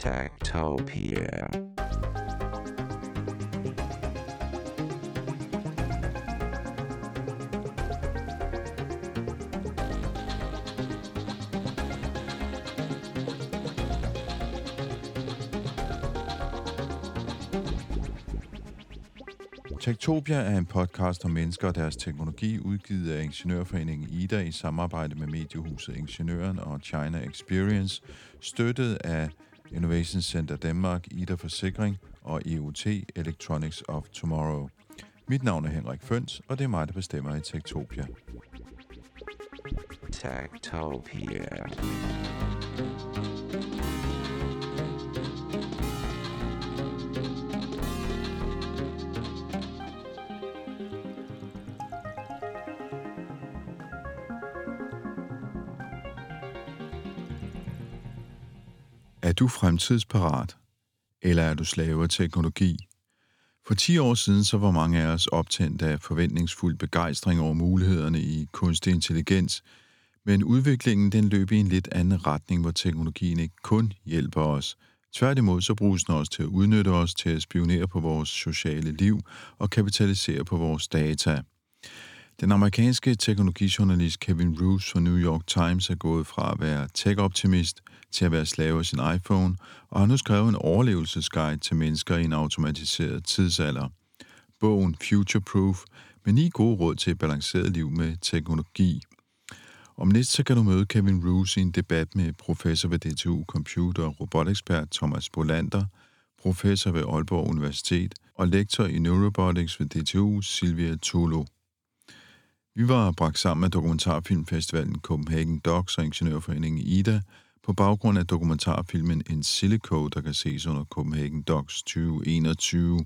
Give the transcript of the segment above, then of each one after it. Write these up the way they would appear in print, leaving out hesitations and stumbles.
Techtopia. Techtopia er en podcast om mennesker og deres teknologi, udgivet af Ingeniørforeningen IDA i samarbejde med mediehuset Ingeniøren og China Experience, støttet af Innovation Center Danmark, IDA Forsikring og EOT Electronics of Tomorrow. Mit navn er Henrik Føns, og det er mig, der bestemmer i Techtopia. Techtopia. Er du fremtidsparat, eller er du slave af teknologi? For 10 år siden så var mange af os optændt af forventningsfuld begejstring over mulighederne i kunstig intelligens, men udviklingen den løb i en lidt anden retning, hvor teknologien ikke kun hjælper os. Tværtimod så bruges den også til at udnytte os, til at spionere på vores sociale liv og kapitalisere på vores data. Den amerikanske teknologijournalist Kevin Roose fra New York Times er gået fra at være tech-optimist til at være slave af sin iPhone, og har nu skrevet en overlevelsesguide til mennesker i en automatiseret tidsalder. Bogen Future Proof med 9 gode råd til et balanceret liv med teknologi. Om lidt så kan du møde Kevin Roose i en debat med professor ved DTU Computer- og robotekspert Thomas Bolander, professor ved Aalborg Universitet og lektor i Neurobotics ved DTU Silvia Tolo. Vi var bragt sammen af dokumentarfilmfestivalen Copenhagen Docs og Ingeniørforeningen IDA på baggrund af dokumentarfilmen In Silico, der kan ses under Copenhagen Docs 2021.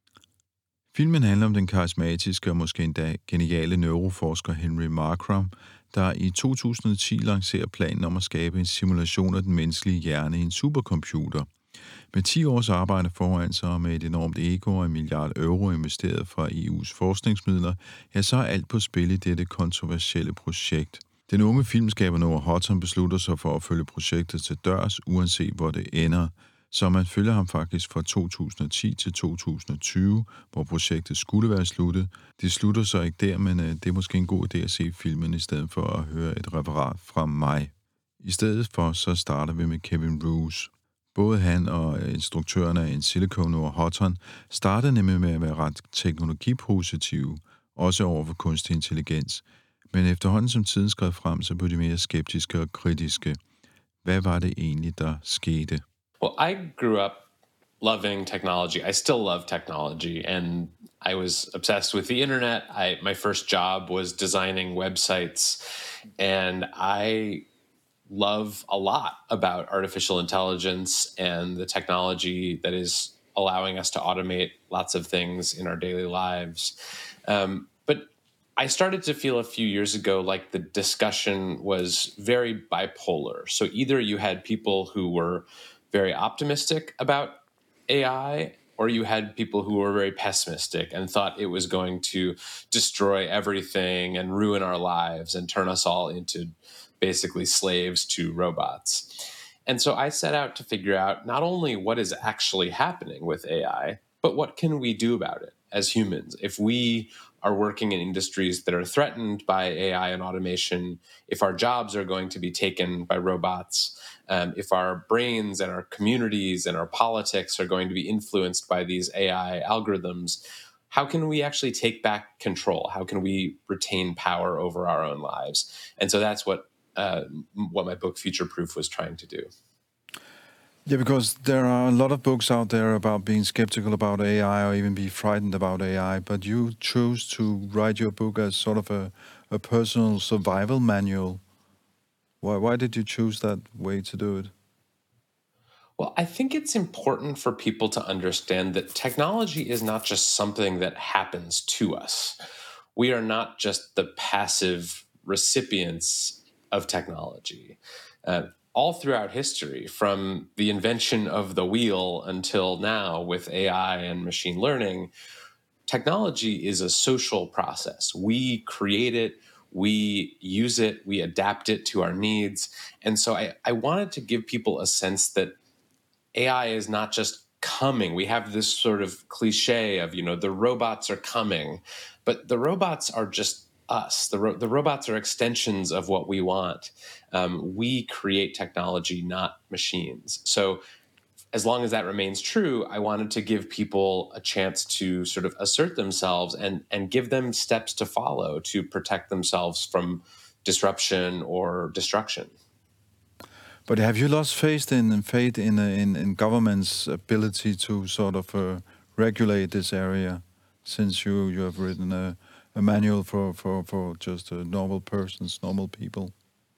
Filmen handler om den karismatiske og måske endda geniale neuroforsker Henry Markram, der i 2010 lancerer planen om at skabe en simulation af den menneskelige hjerne i en supercomputer. Med 10 års arbejde foran sig med et enormt ego og €1 milliard investeret fra EU's forskningsmidler, ja, så er alt på spil i dette kontroversielle projekt. Den unge filmskaber Noah Hawton beslutter sig for at følge projektet til dørs, uanset hvor det ender. Så man følger ham faktisk fra 2010 til 2020, hvor projektet skulle være sluttet. Det slutter så ikke der, men det er måske en god idé at se filmen i stedet for at høre et referat fra mig. I stedet for så starter vi med Kevin Roose. Både han og instruktøren af In Silico, Noah Hawton, startede nemlig med at være ret teknologipositive, også over for kunstig intelligens. Men efterhånden som tiden skred frem, så blev de mere skeptiske og kritiske. Hvad var det egentlig, der skete? Well, I grew up loving technology. I still love technology, and I was obsessed with the internet. My first job was designing websites, and I love a lot about artificial intelligence and the technology that is allowing us to automate lots of things in our daily lives. But I started to feel a few years ago like the discussion was very bipolar. So either you had people who were very optimistic about AI, or you had people who were very pessimistic and thought it was going to destroy everything and ruin our lives and turn us all into basically slaves to robots. And so I set out to figure out not only what is actually happening with AI, but what can we do about it as humans? If we are working in industries that are threatened by AI and automation, if our jobs are going to be taken by robots, if our brains and our communities and our politics are going to be influenced by these AI algorithms, how can we actually take back control? How can we retain power over our own lives? And so that's what my book Future Proof was trying to do. Yeah, because there are a lot of books out there about being skeptical about AI or even be frightened about AI, but you chose to write your book as sort of a personal survival manual. Why did you choose that way to do it? Well, I think it's important for people to understand that technology is not just something that happens to us. We are not just the passive recipients of technology. All throughout history, from the invention of the wheel until now with AI and machine learning, technology is a social process. We create it, we use it, we adapt it to our needs. And so I wanted to give people a sense that AI is not just coming. We have this sort of cliche of, the robots are coming, but the robots are just us. The robots are extensions of what we want. We create technology, not machines. So as long as that remains true, I wanted to give people a chance to sort of assert themselves and give them steps to follow to protect themselves from disruption or destruction. But have you lost faith in government's ability to sort of regulate this area, since you have written a manual for just normal persons, normal people?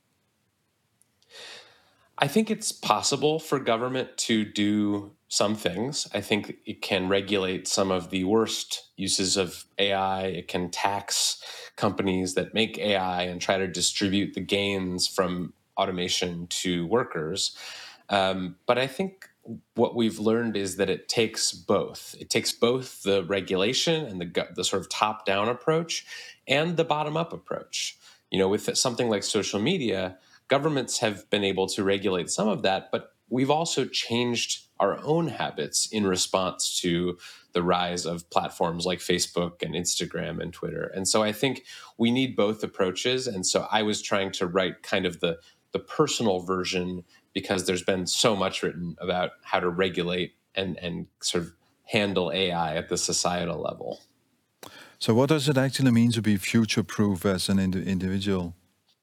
I think it's possible for government to do some things. I think it can regulate some of the worst uses of AI. It can tax companies that make AI and try to distribute the gains from automation to workers. But I think what we've learned is that it takes both. It takes both the regulation and the sort of top-down approach and the bottom-up approach. With something like social media, governments have been able to regulate some of that, but we've also changed our own habits in response to the rise of platforms like Facebook and Instagram and Twitter. And so I think we need both approaches. And so I was trying to write kind of the personal version, because there's been so much written about how to regulate and sort of handle AI at the societal level. So what does it actually mean to be future-proof as an individual?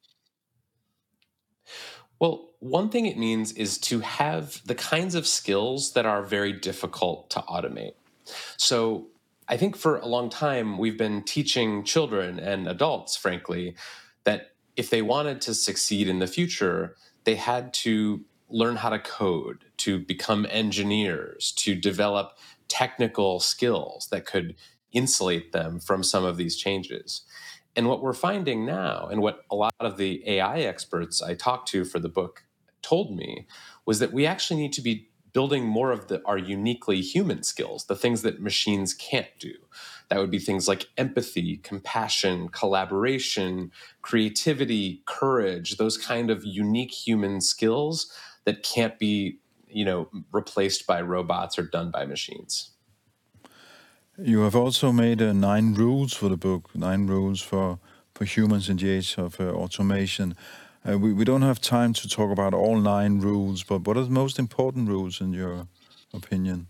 Well, one thing it means is to have the kinds of skills that are very difficult to automate. So I think for a long time, we've been teaching children and adults, frankly, that if they wanted to succeed in the future, they had to learn how to code, to become engineers, to develop technical skills that could insulate them from some of these changes. And what we're finding now, and what a lot of the AI experts I talked to for the book told me, was that we actually need to be building more of our uniquely human skills, the things that machines can't do. That would be things like empathy, compassion, collaboration, creativity, courage, those kind of unique human skills that can't be, replaced by robots or done by machines. You have also made 9 rules for the book, 9 rules for humans in the age of automation. We don't have time to talk about all 9 rules, but what are the most important rules in your opinion?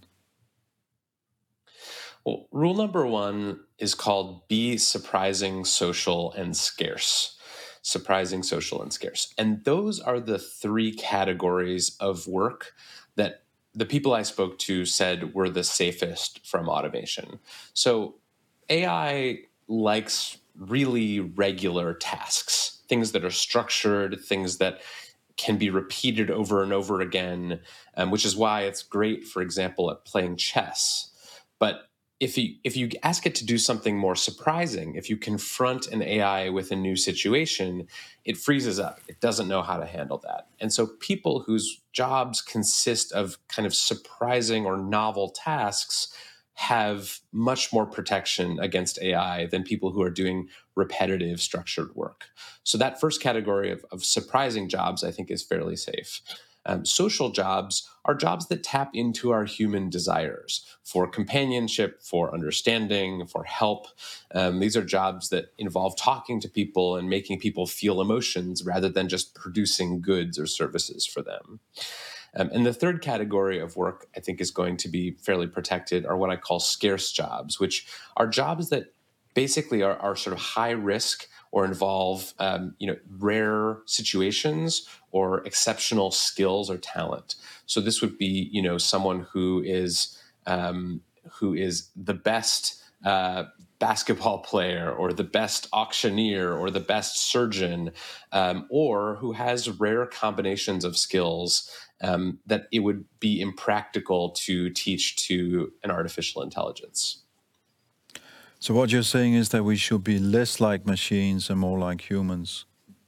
Well, rule number 1 is called be surprising, social, and scarce. Surprising, social, and scarce. And those are the 3 categories of work that the people I spoke to said were the safest from automation. So AI likes really regular tasks, things that are structured, things that can be repeated over and over again, which is why it's great, for example, at playing chess. But if you ask it to do something more surprising, if you confront an AI with a new situation, it freezes up. It doesn't know how to handle that. And so people whose jobs consist of kind of surprising or novel tasks have much more protection against AI than people who are doing repetitive, structured work. So that first category of surprising jobs, I think, is fairly safe. Social jobs are jobs that tap into our human desires for companionship, for understanding, for help. These are jobs that involve talking to people and making people feel emotions rather than just producing goods or services for them. And the third category of work, I think, is going to be fairly protected, are what I call scarce jobs, which are jobs that basically are sort of high risk or involve rare situations or exceptional skills or talent. So this would be someone who is the best basketball player or the best auctioneer or the best surgeon, or who has rare combinations of skills that it would be impractical to teach to an artificial intelligence. So what you're saying is that we should be less like machines and more like humans.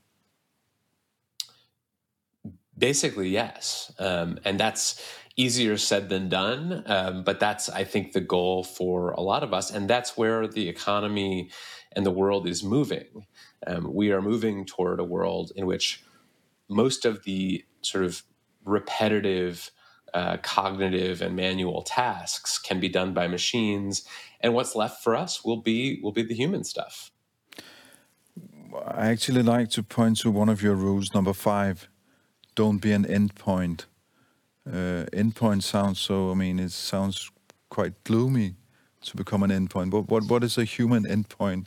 Basically, yes. And that's easier said than done. But that's, I think, the goal for a lot of us. And that's where the economy and the world is moving. We are moving toward a world in which most of the sort of repetitive cognitive and manual tasks can be done by machines, and what's left for us will be the human stuff. I actually like to point to one of your rules, number 5. Don't be an endpoint. Endpoint sounds so, it sounds quite gloomy to become an endpoint. What is a human endpoint?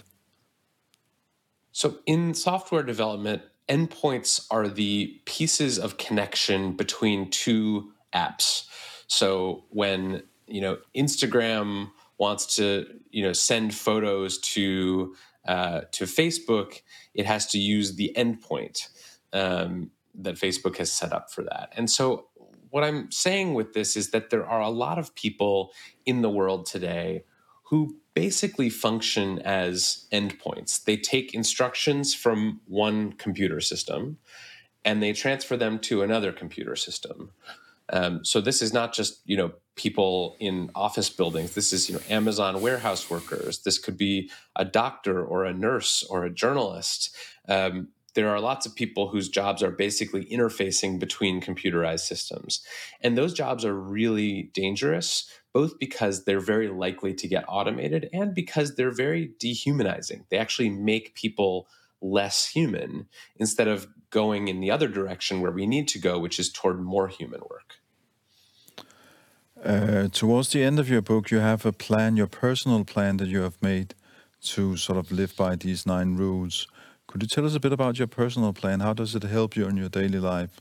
So in software development, endpoints are the pieces of connection between two apps. So when, Instagram wants to, send photos to Facebook, it has to use the endpoint that Facebook has set up for that. And so what I'm saying with this is that there are a lot of people in the world today who basically function as endpoints. They take instructions from one computer system and they transfer them to another computer system. So this is not just, people in office buildings. This is, Amazon warehouse workers. This could be a doctor or a nurse or a journalist. There are lots of people whose jobs are basically interfacing between computerized systems. And those jobs are really dangerous, both because they're very likely to get automated and because they're very dehumanizing. They actually make people less human instead of going in the other direction where we need to go, which is toward more human work. Towards the end of your book, you have a plan, your personal plan that you have made to sort of live by these 9 rules. Could you tell us a bit about your personal plan? How does it help you in your daily life?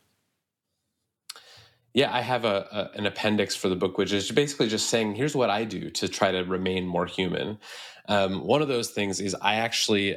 Yeah, I have an appendix for the book, which is basically just saying, here's what I do to try to remain more human. One of those things is I actually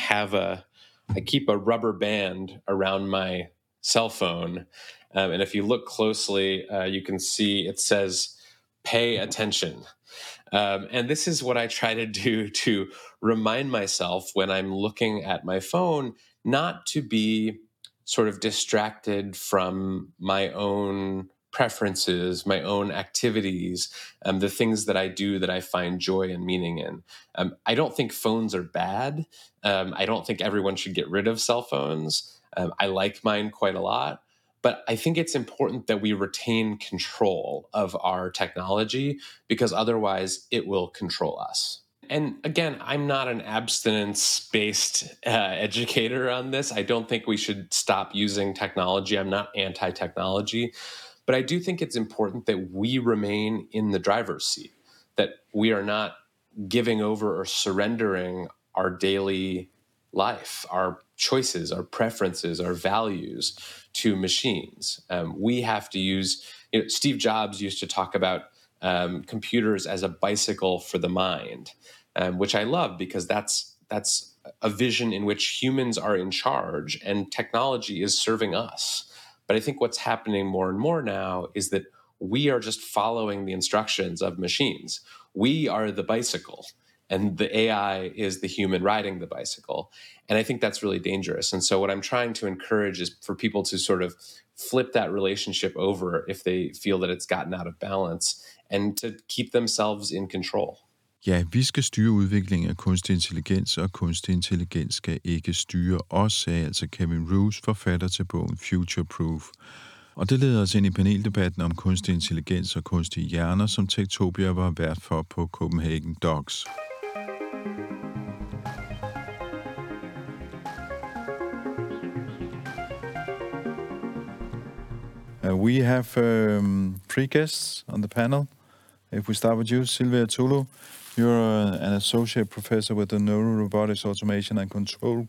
I keep a rubber band around my cell phone. And if you look closely, you can see it says, pay attention. And this is what I try to do to remind myself when I'm looking at my phone, not to be sort of distracted from my own preferences, my own activities, the things that I do that I find joy and meaning in. I don't think phones are bad. I don't think everyone should get rid of cell phones. I like mine quite a lot. But I think it's important that we retain control of our technology because otherwise it will control us. And again, I'm not an abstinence-based educator on this. I don't think we should stop using technology. I'm not anti-technology. But I do think it's important that we remain in the driver's seat, that we are not giving over or surrendering our daily life, our choices, our preferences, our values to machines. We have to use, Steve Jobs used to talk about computers as a bicycle for the mind, which I love because that's a vision in which humans are in charge and technology is serving us. But I think what's happening more and more now is that we are just following the instructions of machines. We are the bicycle, and the AI is the human riding the bicycle. And I think that's really dangerous. And so what I'm trying to encourage is for people to sort of flip that relationship over if they feel that it's gotten out of balance, and to keep themselves in control. Ja, vi skal styre udviklingen af kunstig intelligens, og kunstig intelligens skal ikke styre os, sagde altså Kevin Roose, forfatter til bogen Future Proof. Og det leder os ind i paneldebatten om kunstig intelligens og kunstige hjerner, som Techtopia var vært for på Copenhagen Docs. We have 3 guests on the panel. If we start with you, Silvia Tulu, you're an associate professor with the Neurorobotics Automation and Control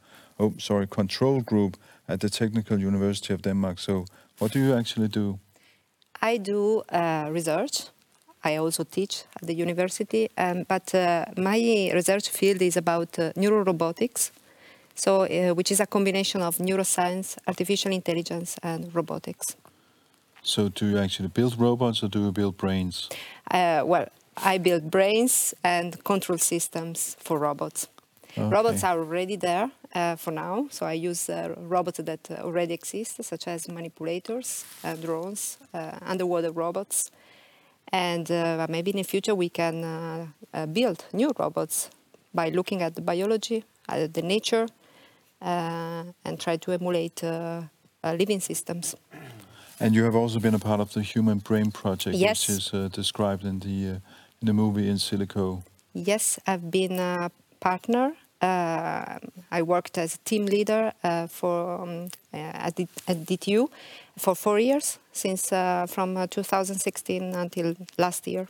Group at the Technical University of Denmark. So what do you actually do? I do research. I also teach at the university, but my research field is about neurorobotics, so which is a combination of neuroscience, artificial intelligence, and robotics. So do you actually build robots or do you build brains? Well, I build brains and control systems for robots. Okay. Robots are already there for now, so I use robots that already exist, such as manipulators, drones, underwater robots. And maybe in the future we can build new robots by looking at the biology, at the nature, and try to emulate living systems. And you have also been a part of the Human Brain Project, Yes. which is described in the movie In Silico. Yes, I've been a partner. I worked as a team leader at DTU for 4 years, since from 2016 until last year.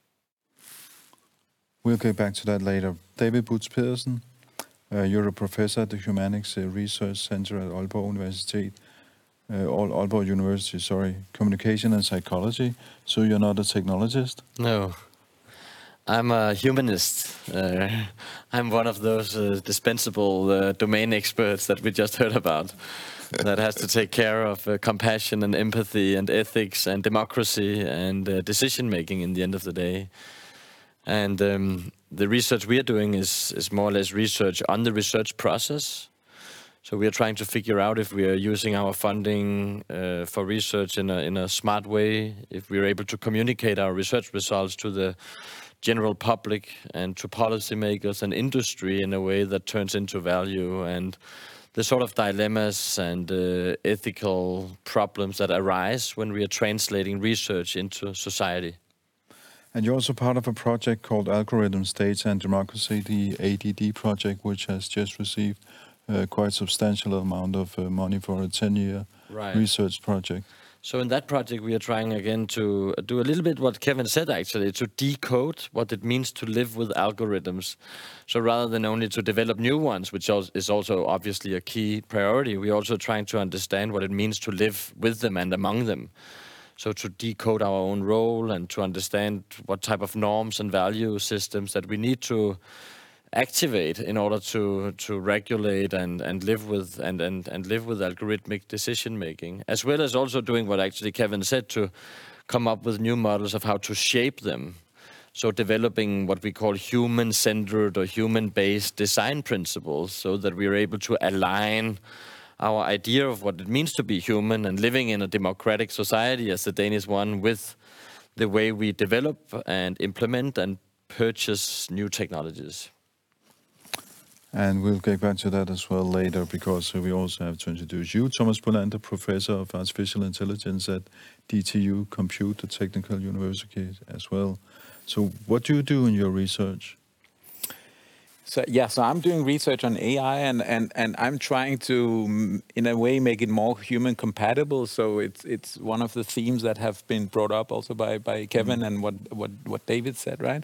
We'll get back to that later. David Butz Pedersen, you're a professor at the Humanics Research Center at Aalborg University. Aalborg University, Communication and Psychology. So you're not a technologist? No. I'm a humanist. I'm one of those dispensable domain experts that we just heard about, that has to take care of compassion and empathy and ethics and democracy and decision-making in the end of the day. And the research we are doing is more or less research on the research process. So we are trying to figure out if we are using our funding for research in a smart way, if we are able to communicate our research results to the general public and to policymakers and industry in a way that turns into value, and the sort of dilemmas and ethical problems that arise when we are translating research into society. And you're also part of a project called Algorithms, Data and Democracy, the ADD project, which has just received quite substantial amount of money for a 10-year research project. So in that project, we are trying again to do a little bit what Kevin said, actually, to decode what it means to live with algorithms. So rather than only to develop new ones, which is also obviously a key priority, we're also trying to understand what it means to live with them and among them. So to decode our own role and to understand what type of norms and value systems that we need to activate in order to regulate and live with and live with algorithmic decision making, as well as also doing what actually Kevin said, to come up with new models of how to shape them. So developing what we call human-centered or human-based design principles, so that we are able to align our idea of what it means to be human and living in a democratic society as the Danish one with the way we develop and implement and purchase new technologies. And we'll get back to that as well later, because we also have to introduce you, Thomas Bolander, Professor of Artificial Intelligence at DTU Compute, the Technical University as well. So what do you do in your research? So I'm doing research on AI, and I'm trying to, in a way, make it more human compatible. So it's one of the themes that have been brought up also by Kevin and what David said, right?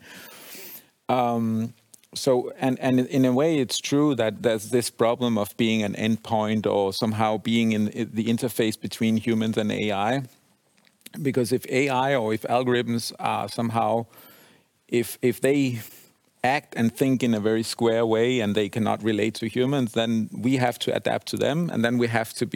So in a way, it's true that there's this problem of being an endpoint or somehow being in the interface between humans and AI. Because if AI or if algorithms are somehow, if they act and think in a very square way and they cannot relate to humans, then we have to adapt to them, and then we have to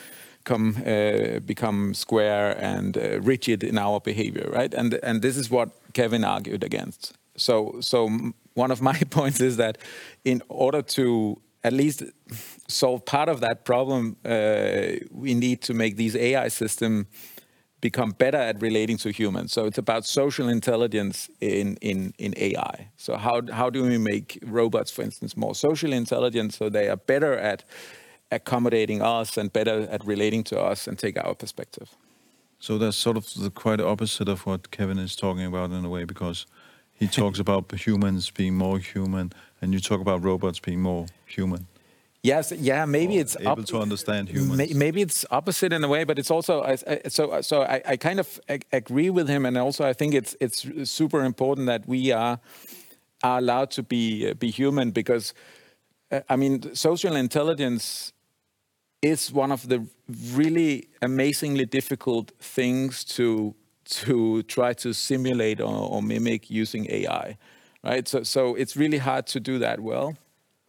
become square and rigid in our behavior, right? And this is what Kevin argued against. So one of my points is that in order to at least solve part of that problem, we need to make these AI systems become better at relating to humans. So it's about social intelligence in AI. So how do we make robots, for instance, more socially intelligent so they are better at accommodating us and better at relating to us and take our perspective? So that's sort of the quite opposite of what Kevin is talking about in a way, because he talks about humans being more human, and you talk about robots being more human. Yes, yeah, maybe it's able to understand humans. Maybe it's opposite in a way, but it's also I kind of agree with him, and also I think it's super important that we are allowed to be human, because I mean, social intelligence is one of the really amazingly difficult things to try to simulate or mimic using AI, right? So it's really hard to do that well.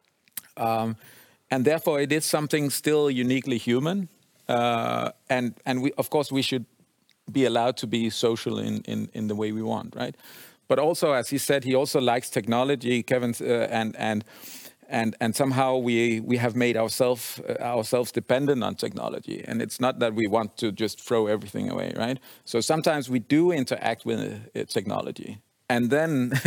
And therefore, it is something still uniquely human. And we, of course, we should be allowed to be social in the way we want, right? But also, as he said, he also likes technology, Kevin, and somehow we have made ourselves dependent on technology. And it's not that we want to just throw everything away, right? So sometimes we do interact with technology. And then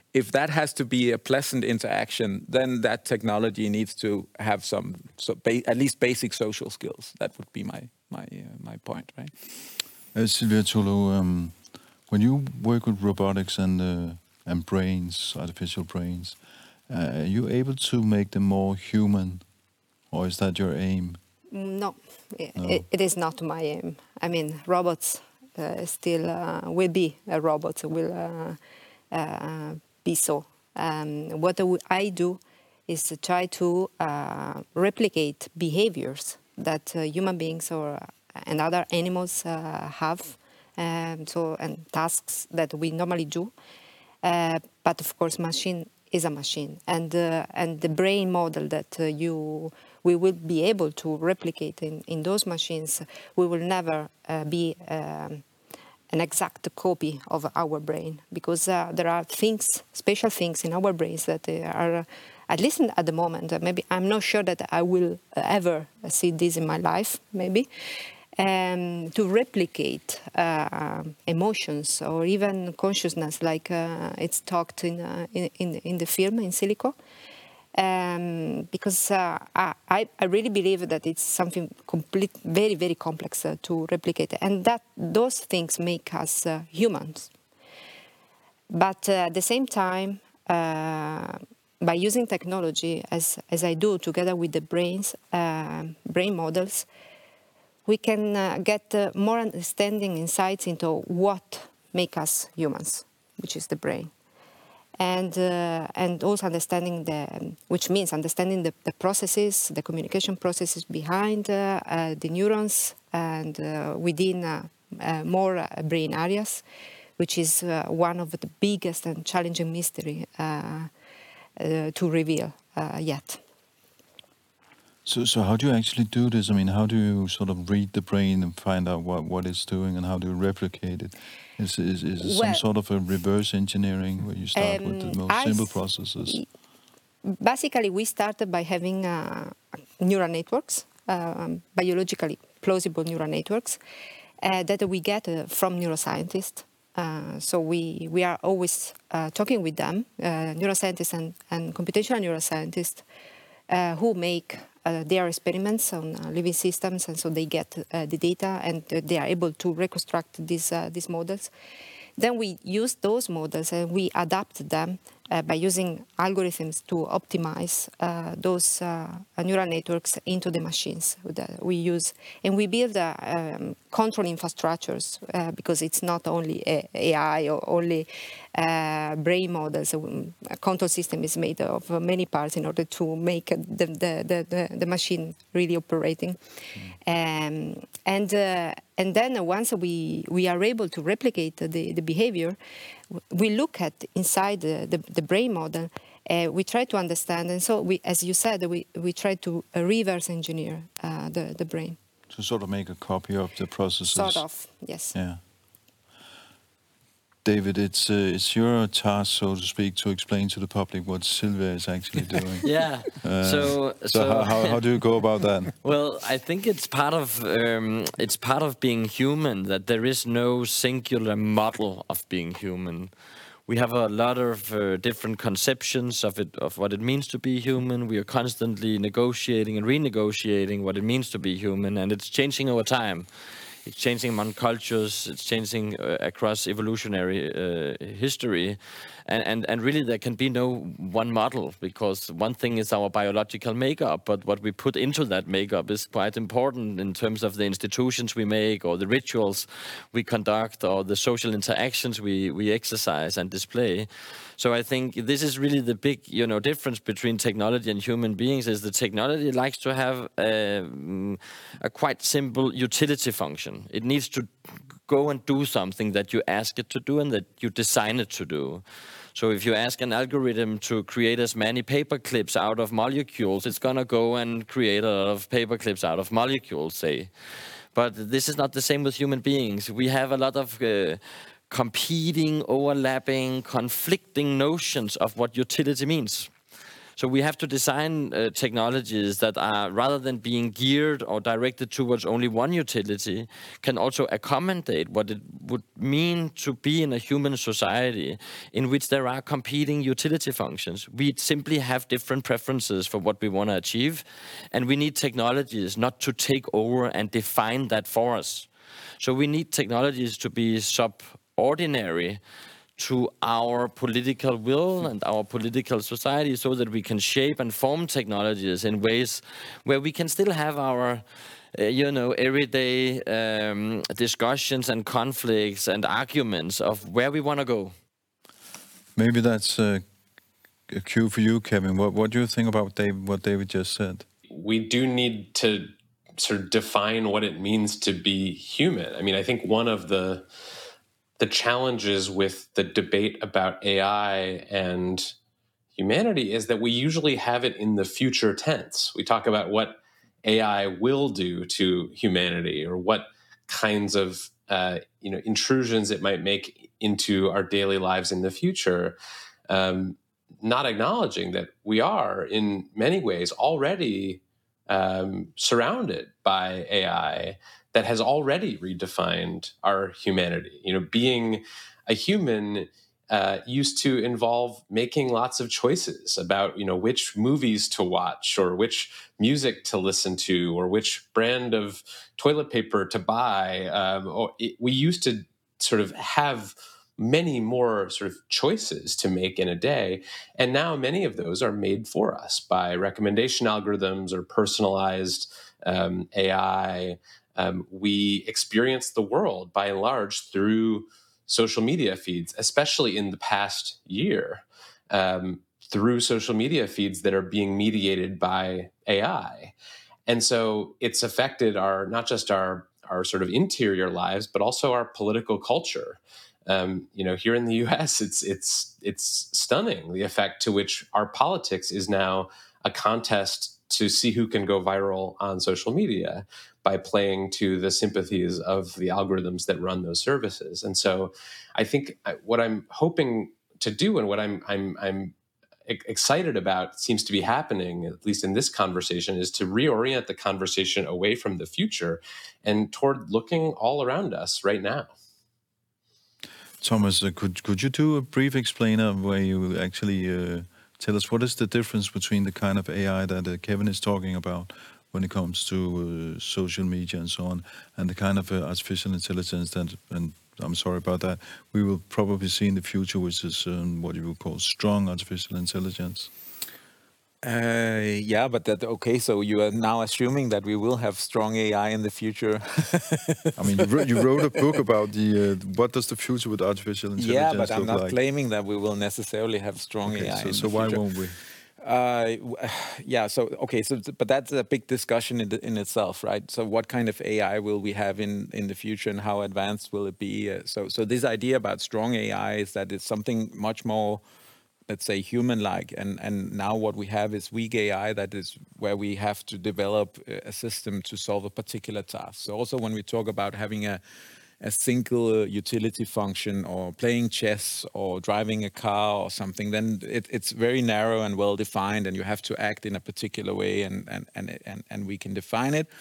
if that has to be a pleasant interaction, then that technology needs to have at least basic social skills. That would be my point, right? Silvia Tolo, when you work with robotics and brains, artificial brains, are you able to make them more human, or is that your aim? No, it is not my aim. I mean, robots still will be a robot, will be so. What I do is to try to replicate behaviors that human beings and other animals have, and tasks that we normally do. But of course, machine is a machine, and the brain model that we will be able to replicate in those machines, we will never be an exact copy of our brain, because there are special things in our brains that are, at least at the moment, maybe I'm not sure that I will ever see this in my life, maybe, to replicate emotions or even consciousness, like it's talked in the film in Silico. Because I really believe that it's something very, very complex to replicate, and that those things make us humans. But at the same time, by using technology, as I do together with the brain models, we can get more understanding, insights into what makes us humans, which is the brain. And also understanding which means understanding the processes, the communication processes behind the neurons and within more brain areas, which is one of the biggest and challenging mystery to reveal yet. So how do you actually do this? I mean, how do you sort of read the brain and find out what it's doing, and how do you replicate it? Is it some sort of a reverse engineering where you start with the most simple processes? Basically, we started by having neural networks, biologically plausible neural networks, that we get from neuroscientists. So we are always talking with them, neuroscientists and computational neuroscientists, who make their experiments on living systems, and so they get the data and they are able to reconstruct these models. Then we use those models and we adapt them by using algorithms to optimize those neural networks into the machines that we use. And we build control infrastructures because it's not only AI or only brain models. A control system is made of many parts in order to make the machine really operating. And then once we are able to replicate the behavior, we look at inside the brain model, we try to understand, and so as you said, we try to reverse engineer the brain. To sort of make a copy of the processes. Sort of, yes. Yeah. David, it's your task, so to speak, to explain to the public what Silvia is actually doing. Yeah. So how do you go about that? Well, I think it's part of being human, that there is no singular model of being human. We have a lot of different conceptions of what it means to be human. We are constantly negotiating and renegotiating what it means to be human, and it's changing over time. It's changing among cultures, it's changing across evolutionary history. And really there can be no one model, because one thing is our biological makeup, but what we put into that makeup is quite important in terms of the institutions we make, or the rituals we conduct, or the social interactions we exercise and display. So I think this is really the big, difference between technology and human beings, is the technology likes to have a quite simple utility function. It needs to go and do something that you ask it to do and that you design it to do. So if you ask an algorithm to create as many paper clips out of molecules, it's going to go and create a lot of paper clips out of molecules, say. But this is not the same with human beings. We have a lot of competing, overlapping, conflicting notions of what utility means. So we have to design technologies that are, rather than being geared or directed towards only one utility, can also accommodate what it would mean to be in a human society in which there are competing utility functions. We simply have different preferences for what we want to achieve, and we need technologies not to take over and define that for us. So we need technologies to be subordinary to our political will and our political society, so that we can shape and form technologies in ways where we can still have our everyday discussions and conflicts and arguments of where we want to go. Maybe that's a cue for you, Kevin. What do you think about what David just said? We do need to sort of define what it means to be human. I mean, I think one of the challenges with the debate about AI and humanity is that we usually have it in the future tense. We talk about what AI will do to humanity, or what kinds of intrusions it might make into our daily lives in the future, not acknowledging that we are in many ways already surrounded by AI that has already redefined our humanity. Being a human used to involve making lots of choices about, which movies to watch, or which music to listen to, or which brand of toilet paper to buy. We used to sort of have many more sort of choices to make in a day. And now many of those are made for us by recommendation algorithms or personalized AI. We experience the world by and large through social media feeds, especially in the past year, through social media feeds that are being mediated by AI. And so it's affected not just our sort of interior lives, but also our political culture. Here in the U.S., it's stunning the effect to which our politics is now a contest to see who can go viral on social media by playing to the sympathies of the algorithms that run those services. And so I think what I'm hoping to do, and what I'm excited about, seems to be happening, at least in this conversation, is to reorient the conversation away from the future and toward looking all around us right now. Thomas, could you do a brief explainer where you actually tell us what is the difference between the kind of AI that Kevin is talking about when it comes to social media and so on, and the kind of artificial intelligence that, and I'm sorry about that, we will probably see in the future, which is what you would call strong artificial intelligence? Yeah, but okay. So you are now assuming that we will have strong AI in the future. I mean, you wrote a book about what does the future with artificial intelligence look like? Yeah, but I'm not claiming that we will necessarily have strong AI in the future. So why won't we? But that's a big discussion in itself, right? So what kind of AI will we have in the future, and how advanced will it be? So this idea about strong AI is that it's something much more, let's say, human-like, and now what we have is weak AI, that is where we have to develop a system to solve a particular task. So also when we talk about having a single utility function, or playing chess, or driving a car or something, then it's very narrow and well defined, and you have to act in a particular way, and we can define it.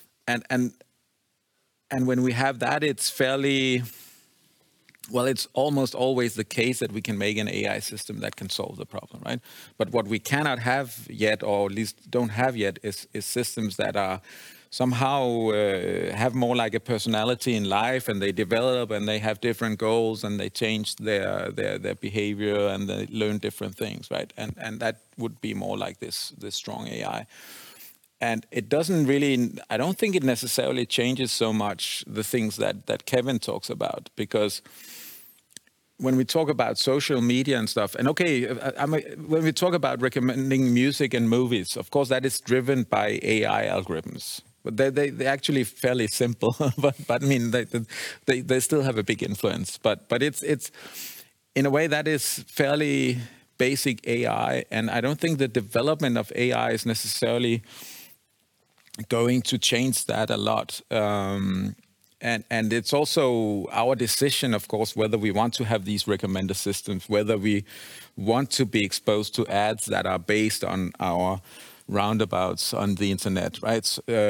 And when we have that, it's fairly, well, it's almost always the case that we can make an AI system that can solve the problem, right? But what we cannot have yet, or at least don't have yet, is systems that are somehow have more like a personality in life, and they develop, and they have different goals, and they change their behavior, and they learn different things, right? And that would be more like this strong AI. And it doesn't really, I don't think it necessarily changes so much the things that Kevin talks about, because when we talk about social media and stuff, and when we talk about recommending music and movies, of course that is driven by AI algorithms. But they're actually fairly simple, but I mean they still have a big influence. But it's in a way that is fairly basic AI, and I don't think the development of AI is necessarily going to change that a lot. And it's also our decision, of course, whether we want to have these recommender systems, whether we want to be exposed to ads that are based on our roundabouts on the internet, right?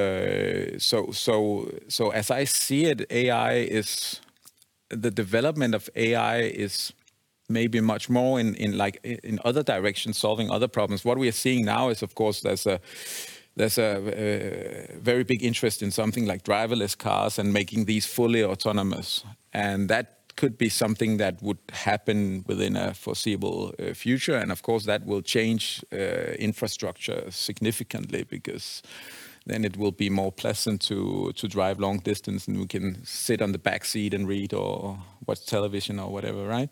So as I see it, the development of AI is maybe much more in other directions, solving other problems. What we are seeing now is, of course, there's a very big interest in something like driverless cars and making these fully autonomous. And that could be something that would happen within a foreseeable future. And of course, that will change infrastructure significantly, because then it will be more pleasant to drive long distance, and we can sit on the back seat and read or watch television or whatever, right?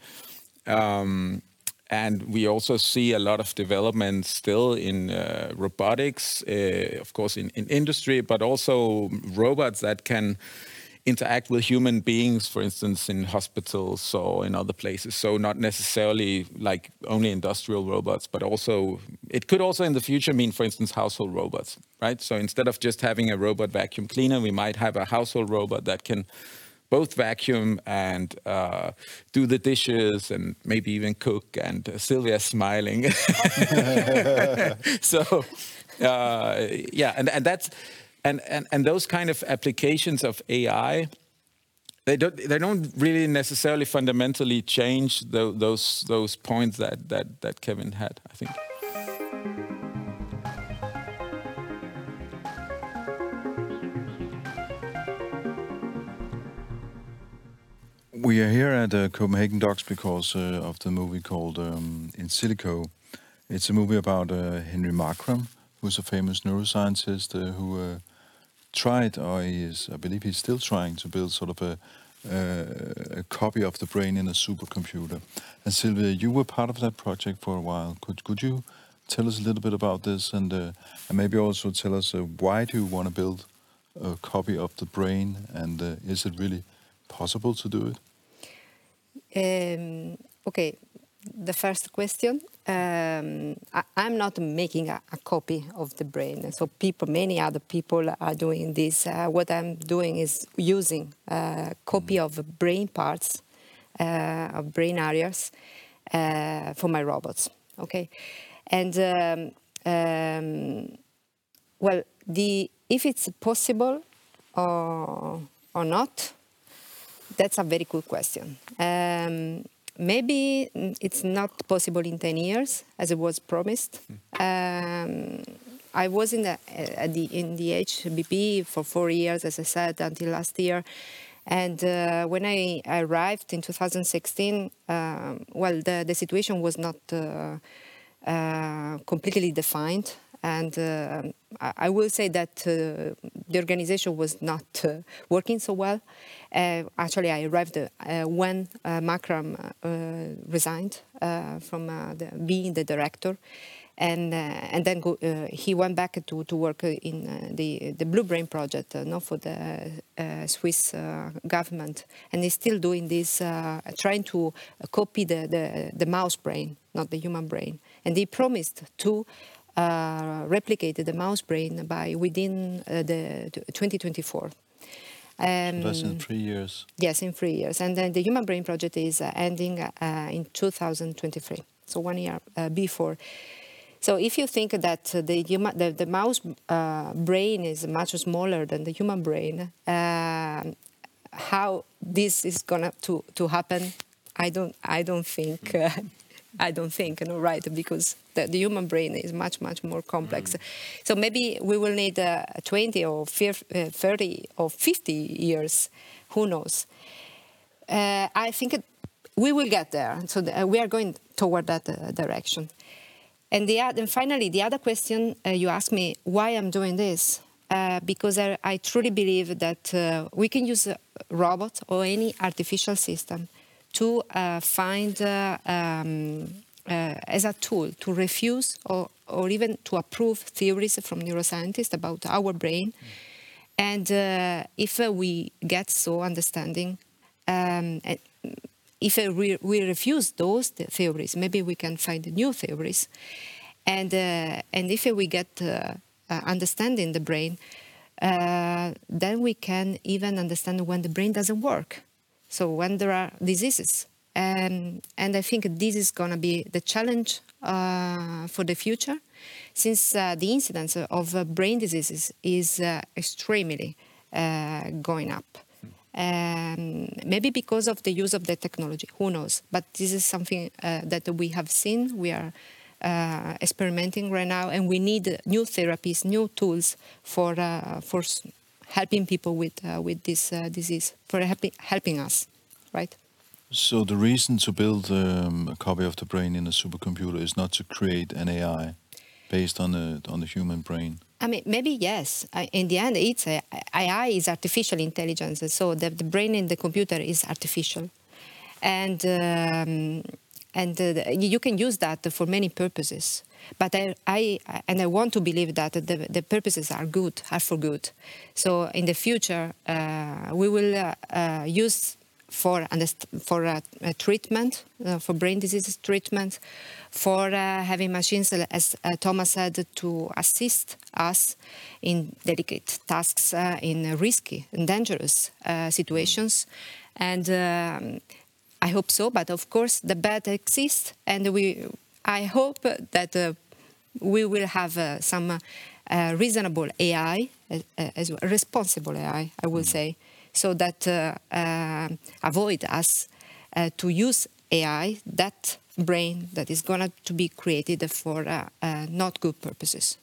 And we also see a lot of development still in robotics, of course, in industry, but also robots that can interact with human beings, for instance, in hospitals or in other places. So not necessarily like only industrial robots, but also, it could also in the future mean, for instance, household robots, right? So instead of just having a robot vacuum cleaner, we might have a household robot that can both vacuum and do the dishes and maybe even cook. And Sylvia's smiling. So, yeah, and that's and those kind of applications of AI, they don't really necessarily fundamentally change those points that Kevin had, I think. We are here at Copenhagen Docs because of the movie called In Silico. It's a movie about Henry Markram, who's a famous neuroscientist who tried, or I believe he's still trying to build sort of a copy of the brain in a supercomputer. And Sylvia, you were part of that project for a while. Could you tell us a little bit about this, and maybe also tell us why do you want to build a copy of the brain, and is it really possible to do it? Okay, the first question. I'm not making a copy of the brain. So many other people are doing this. What I'm doing is using a copy of brain parts, of brain areas, for my robots. Okay, and well, if it's possible or not, that's a very good question. Maybe it's not possible in 10 years, as it was promised. I was in the HBP for 4 years, as I said, until last year. And when I arrived in 2016, well, the situation was not completely defined. And I will say that the organization was not working so well. Actually, I arrived when Markram resigned from being the director. And then he went back to work in the Blue Brain project, for the Swiss government. And he's still doing this, trying to copy the mouse brain, not the human brain. And he promised to replicate the mouse brain within the 2024. So that's in 3 years? Yes, in 3 years. And then the Human Brain Project is ending in 2023, so 1 year before. So if you think that the mouse brain is much smaller than the human brain, how this is gonna to happen, I don't think. I don't think, right? Because the human brain is much more complex. So maybe we will need 20 or 30 or 50 years. Who knows? I think we will get there. So we are going toward that direction. And finally, the other question you asked me, why I'm doing this? Because I truly believe that we can use a robot or any artificial system to find as a tool to refuse or even to approve theories from neuroscientists about our brain. And if we get so understanding, if we refuse those theories, maybe we can find new theories. And if we get understanding the brain, then we can even understand when the brain doesn't work. So when there are diseases. And I think this is going to be the challenge for the future, since the incidence of brain diseases is extremely going up. Maybe because of the use of the technology, who knows? But this is something that we have seen. We are experimenting right now, and we need new therapies, new tools for helping people with this disease, for helping us, right? So the reason to build a copy of the brain in a supercomputer is not to create an AI based on the human brain. I mean, maybe yes. In the end, it's AI is artificial intelligence, so the brain in the computer is artificial, and you can use that for many purposes. But I want to believe that the purposes are good, are for good. So in the future, we will use for treatment, for brain disease treatment, for having machines, as Thomas said, to assist us in delicate tasks, in risky and dangerous situations. And I hope so, but of course the bad exists, and I hope that we will have some reasonable AI, as well, responsible AI, I will say, so that avoid us to use AI, that brain that is going to be created for not good purposes.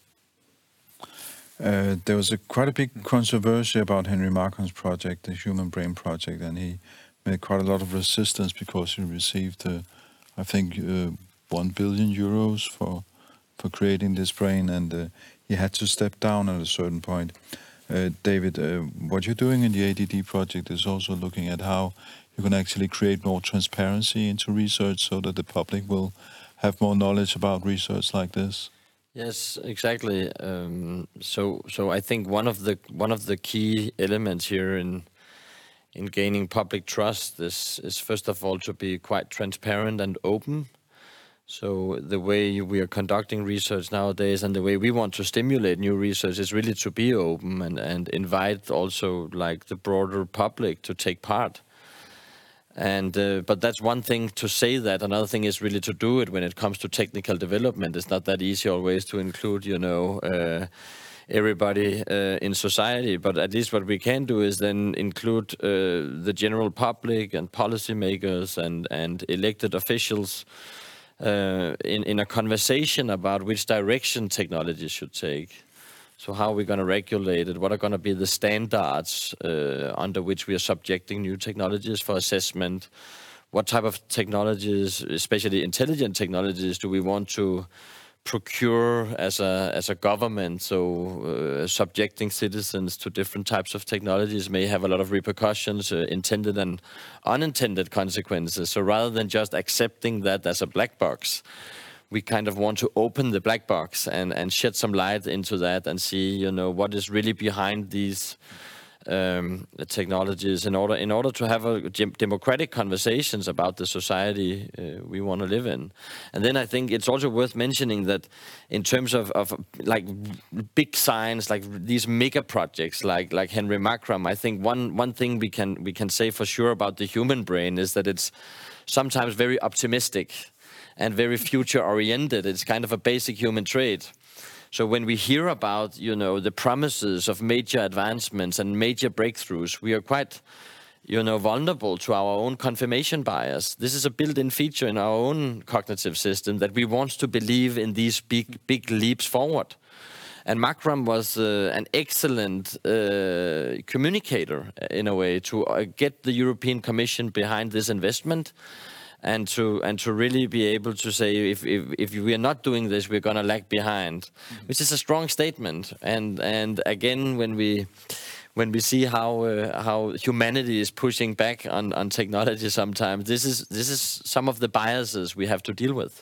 There was quite a big controversy about Henry Markram's project, the Human Brain Project, and he made quite a lot of resistance because he received, I think, 1 billion euros for creating this brain, and he had to step down at a certain point. David, what you're doing in the ADD project is also looking at how you can actually create more transparency into research so that the public will have more knowledge about research like this. Yes, exactly. So I think one of the key elements here in gaining public trust is first of all to be quite transparent and open. So the way we are conducting research nowadays and the way we want to stimulate new research is really to be open and invite also like the broader public to take part. And but that's one thing to say that. Another thing is really to do it when it comes to technical development. It's not that easy always to include, everybody in society. But at least what we can do is then include the general public and policymakers and elected officials in a conversation about which direction technology should take. So how are we going to regulate it? What are going to be the standards under which we are subjecting new technologies for assessment? What type of technologies, especially intelligent technologies, do we want to procure as a government? So subjecting citizens to different types of technologies may have a lot of repercussions, intended and unintended consequences. So rather than just accepting that as a black box, we kind of want to open the black box and shed some light into that and see, what is really behind these technologies in order to have a democratic conversations about the society we want to live in. And then I think it's also worth mentioning that in terms of like big science, like these mega projects like Henry Markram, I think one thing we can say for sure about the human brain is that it's sometimes very optimistic and very future-oriented. It's kind of a basic human trait. So when we hear about, the promises of major advancements and major breakthroughs, we are quite, vulnerable to our own confirmation bias. This is a built-in feature in our own cognitive system that we want to believe in these big leaps forward. And Markram was an excellent communicator, in a way, to get the European Commission behind this investment. And to really be able to say, if we are not doing this, we're going to lag behind, which is a strong statement. And again, when we see how humanity is pushing back on technology, sometimes this is some of the biases we have to deal with.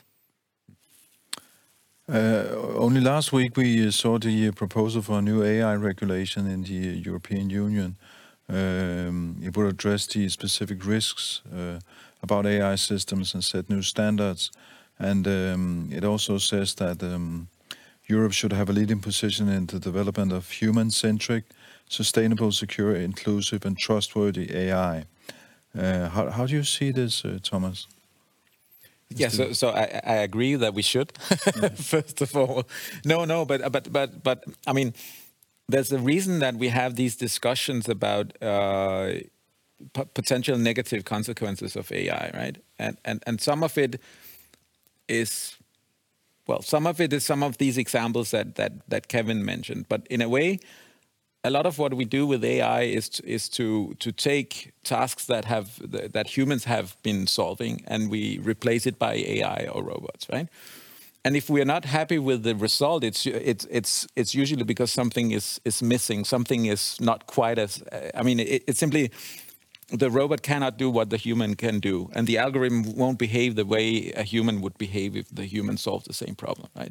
Only last week we saw the proposal for a new AI regulation in the European Union. It would address the specific risks about AI systems and set new standards. And it also says that Europe should have a leading position in the development of human-centric sustainable, secure, inclusive, and trustworthy AI. How do you see this, Thomas? Yeah, so I agree that we should. First of all, but I mean, there's a reason that we have these discussions about potential negative consequences of AI, right? And some of it is, well, some of it is some of these examples that Kevin mentioned. But in a way, a lot of what we do with AI is to take tasks that humans have been solving, and we replace it by AI or robots, right? And if we are not happy with the result, it's usually because something is missing, something is not quite as. I mean, it's simply the robot cannot do what the human can do, and the algorithm won't behave the way a human would behave if the human solved the same problem, right?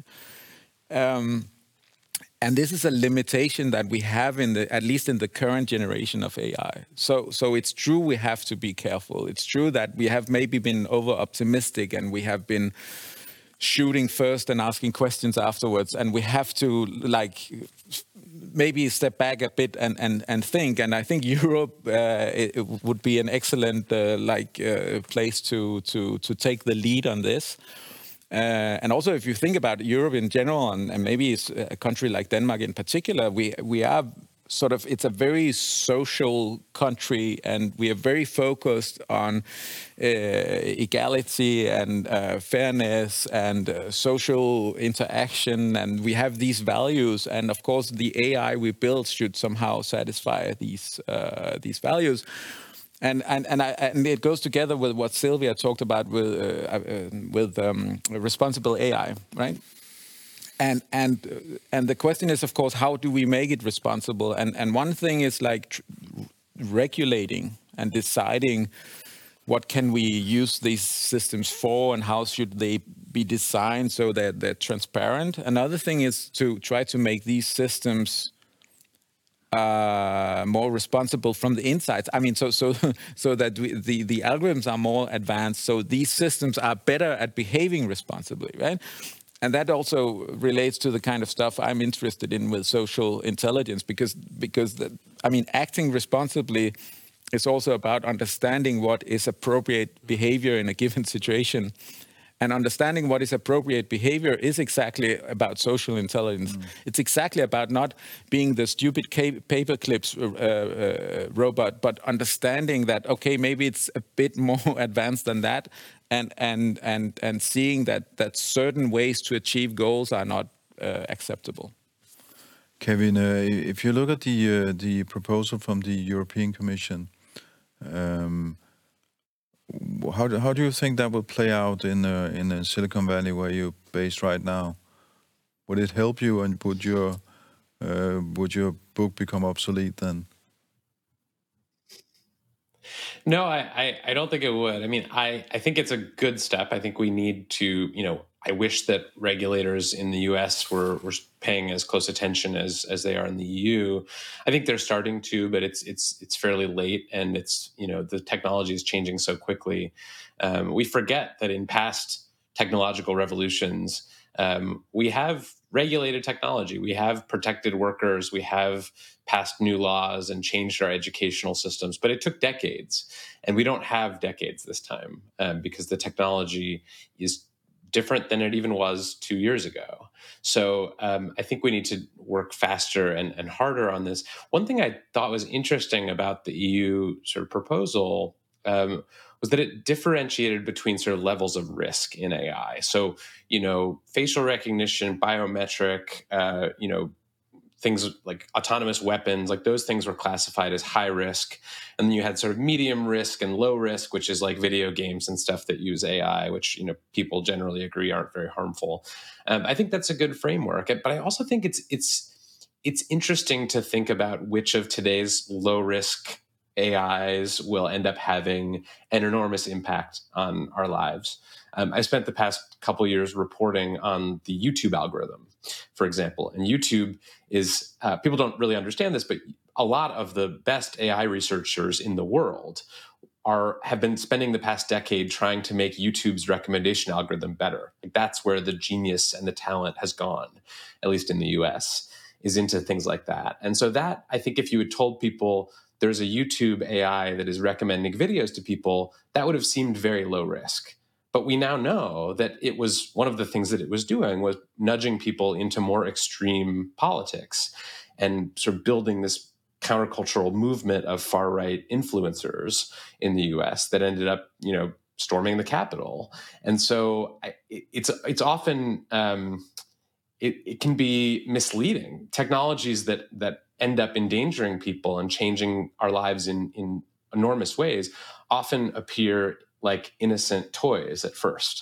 And this is a limitation that we have at least in the current generation of AI. So it's true we have to be careful. It's true that we have maybe been over-optimistic and we have been shooting first and asking questions afterwards. And we have to maybe step back a bit and think. And I think Europe it would be an excellent place to take the lead on this. And also, if you think about Europe in general, and maybe it's a country like Denmark in particular, we are sort of, it's a very social country, and we are very focused on equality and fairness and social interaction, and we have these values. And of course, the AI we build should somehow satisfy these values. And it goes together with what Sylvia talked about with responsible AI, right? And the question is, of course, how do we make it responsible? And one thing is regulating and deciding what can we use these systems for and how should they be designed so that they're transparent. Another thing is to try to make these systems more responsible from the inside. I mean, so that the algorithms are more advanced, so these systems are better at behaving responsibly, right? And that also relates to the kind of stuff I'm interested in with social intelligence, because acting responsibly is also about understanding what is appropriate behavior in a given situation. And understanding what is appropriate behavior is exactly about social intelligence. It's exactly about not being the stupid paper clips robot, but understanding that, okay, maybe it's a bit more advanced than that, and seeing that certain ways to achieve goals are not acceptable. Kevin, if you look at the proposal from the European Commission, how do you think that will play out in Silicon Valley, where you're based right now? Would it help you, and would your book become obsolete then? No, I don't think it would. I mean, I think it's a good step. I think we need to, I wish that regulators in the US were paying as close attention as they are in the EU. I think they're starting to, but it's fairly late, and it's, the technology is changing so quickly. We forget that in past technological revolutions, we have regulated technology. We have protected workers. We have passed new laws and changed our educational systems, but it took decades, and we don't have decades this time because the technology is different than it even was 2 years ago. So I think we need to work faster and harder on this. One thing I thought was interesting about the EU sort of proposal was that it differentiated between sort of levels of risk in AI. So, facial recognition, biometric, things like autonomous weapons, like those things were classified as high risk. And then you had sort of medium risk and low risk, which is like video games and stuff that use AI, which, people generally agree aren't very harmful. I think that's a good framework. But I also think it's interesting to think about which of today's low risk AIs will end up having an enormous impact on our lives. I spent the past couple of years reporting on the YouTube algorithm, for example. And YouTube is, people don't really understand this, but a lot of the best AI researchers in the world have been spending the past decade trying to make YouTube's recommendation algorithm better. That's where the genius and the talent has gone, at least in the US. is into things like that. And so that, I think if you had told people there's a YouTube AI that is recommending videos to people, that would have seemed very low risk. But we now know that it was one of the things that it was doing was nudging people into more extreme politics and sort of building this countercultural movement of far-right influencers in the US that ended up, storming the Capitol. And so it's often it can be misleading. Technologies that end up endangering people and changing our lives in enormous ways often appear like innocent toys at first.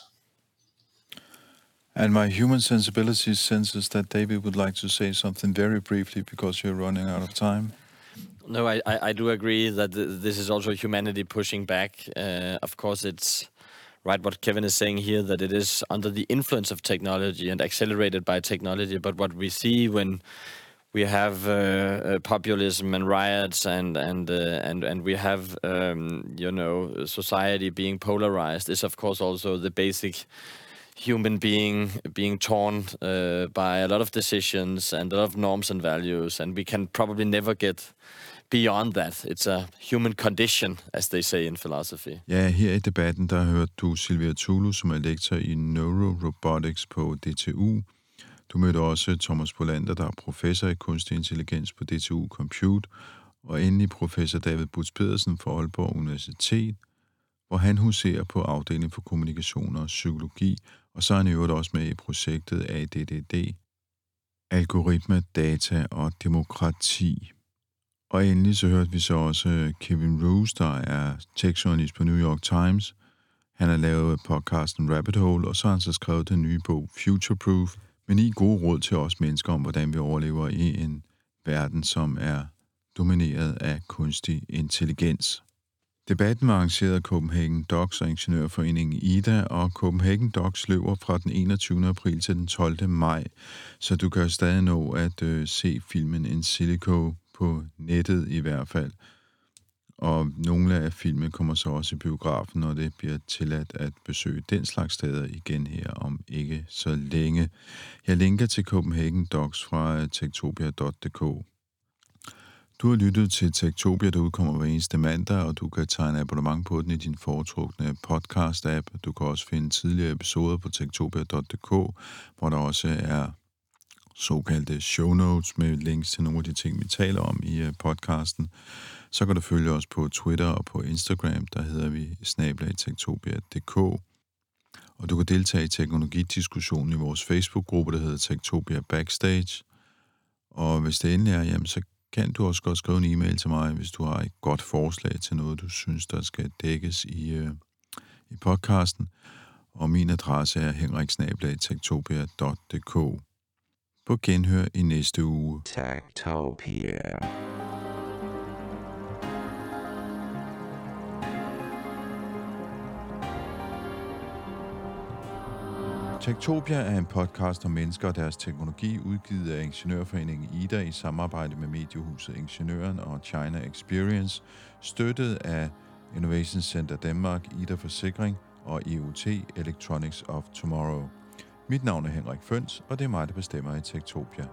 And my human sensibility senses that David would like to say something very briefly because you're running out of time. No, I do agree that this is also humanity pushing back. Of course, it's right what Kevin is saying here, that it is under the influence of technology and accelerated by technology. But what we see when we have populism and riots and we have society being polarized is of course also the basic human being torn by a lot of decisions and a lot of norms and values, and we can probably never get beyond that. It's a human condition, as they say in philosophy. Ja, her i debatten, der hørte du Silvia Tulu, som er lektor i Neurorobotics på DTU. Du mødte også Thomas Bolander, der er professor i kunstig intelligens på DTU Compute, og endelig professor David Butz Pedersen fra Aalborg Universitet, hvor han huserer på afdelingen for kommunikation og psykologi, og så er han i øvrigt også med i projektet ADDD, algoritme, data og demokrati. Og endelig så hørte vi så også Kevin Roose, der er tech-journalist på New York Times. Han har lavet podcasten Rabbit Hole, og så har han så skrevet den nye bog Future Proof, med 9 gode råd til os mennesker om, hvordan vi overlever i en verden, som er domineret af kunstig intelligens. Debatten var arrangeret af Copenhagen Docs og Ingeniørforeningen IDA, og Copenhagen Docs løber fra den 21. april til den 12. maj, så du kan stadig nå at se filmen In Silico på nettet i hvert fald. Og nogle af filmene kommer så også i biografen, når det bliver tilladt at besøge den slags steder igen her om ikke så længe. Jeg linker til Copenhagen Docs fra techtopia.dk. Du har lyttet til Techtopia, der udkommer hver eneste mandag, og du kan tegne abonnement på den i din foretrukne podcast-app. Du kan også finde tidligere episoder på techtopia.dk, hvor der også er såkaldte show notes med links til nogle af de ting, vi taler om i podcasten. Så kan du følge os på Twitter og på Instagram, der hedder vi @techtopia.dk. Og du kan deltage i teknologidiskussionen i vores Facebook-gruppe, der hedder Techtopia Backstage. Og hvis det endelig er, jamen, så kan du også godt skrive en e-mail til mig, hvis du har et godt forslag til noget, du synes, der skal dækkes i podcasten. Og min adresse er henrik@techtopia.dk. På genhør i næste uge. Techtopia. Techtopia er en podcast om mennesker og deres teknologi, udgivet af Ingeniørforeningen IDA i samarbejde med mediehuset Ingeniøren og China Experience, støttet af Innovation Center Danmark, IDA Forsikring og IoT Electronics of Tomorrow. Mit navn er Henrik Føns, og det er mig, der bestemmer i Techtopia.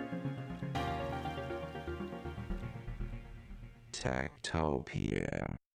Techtopia.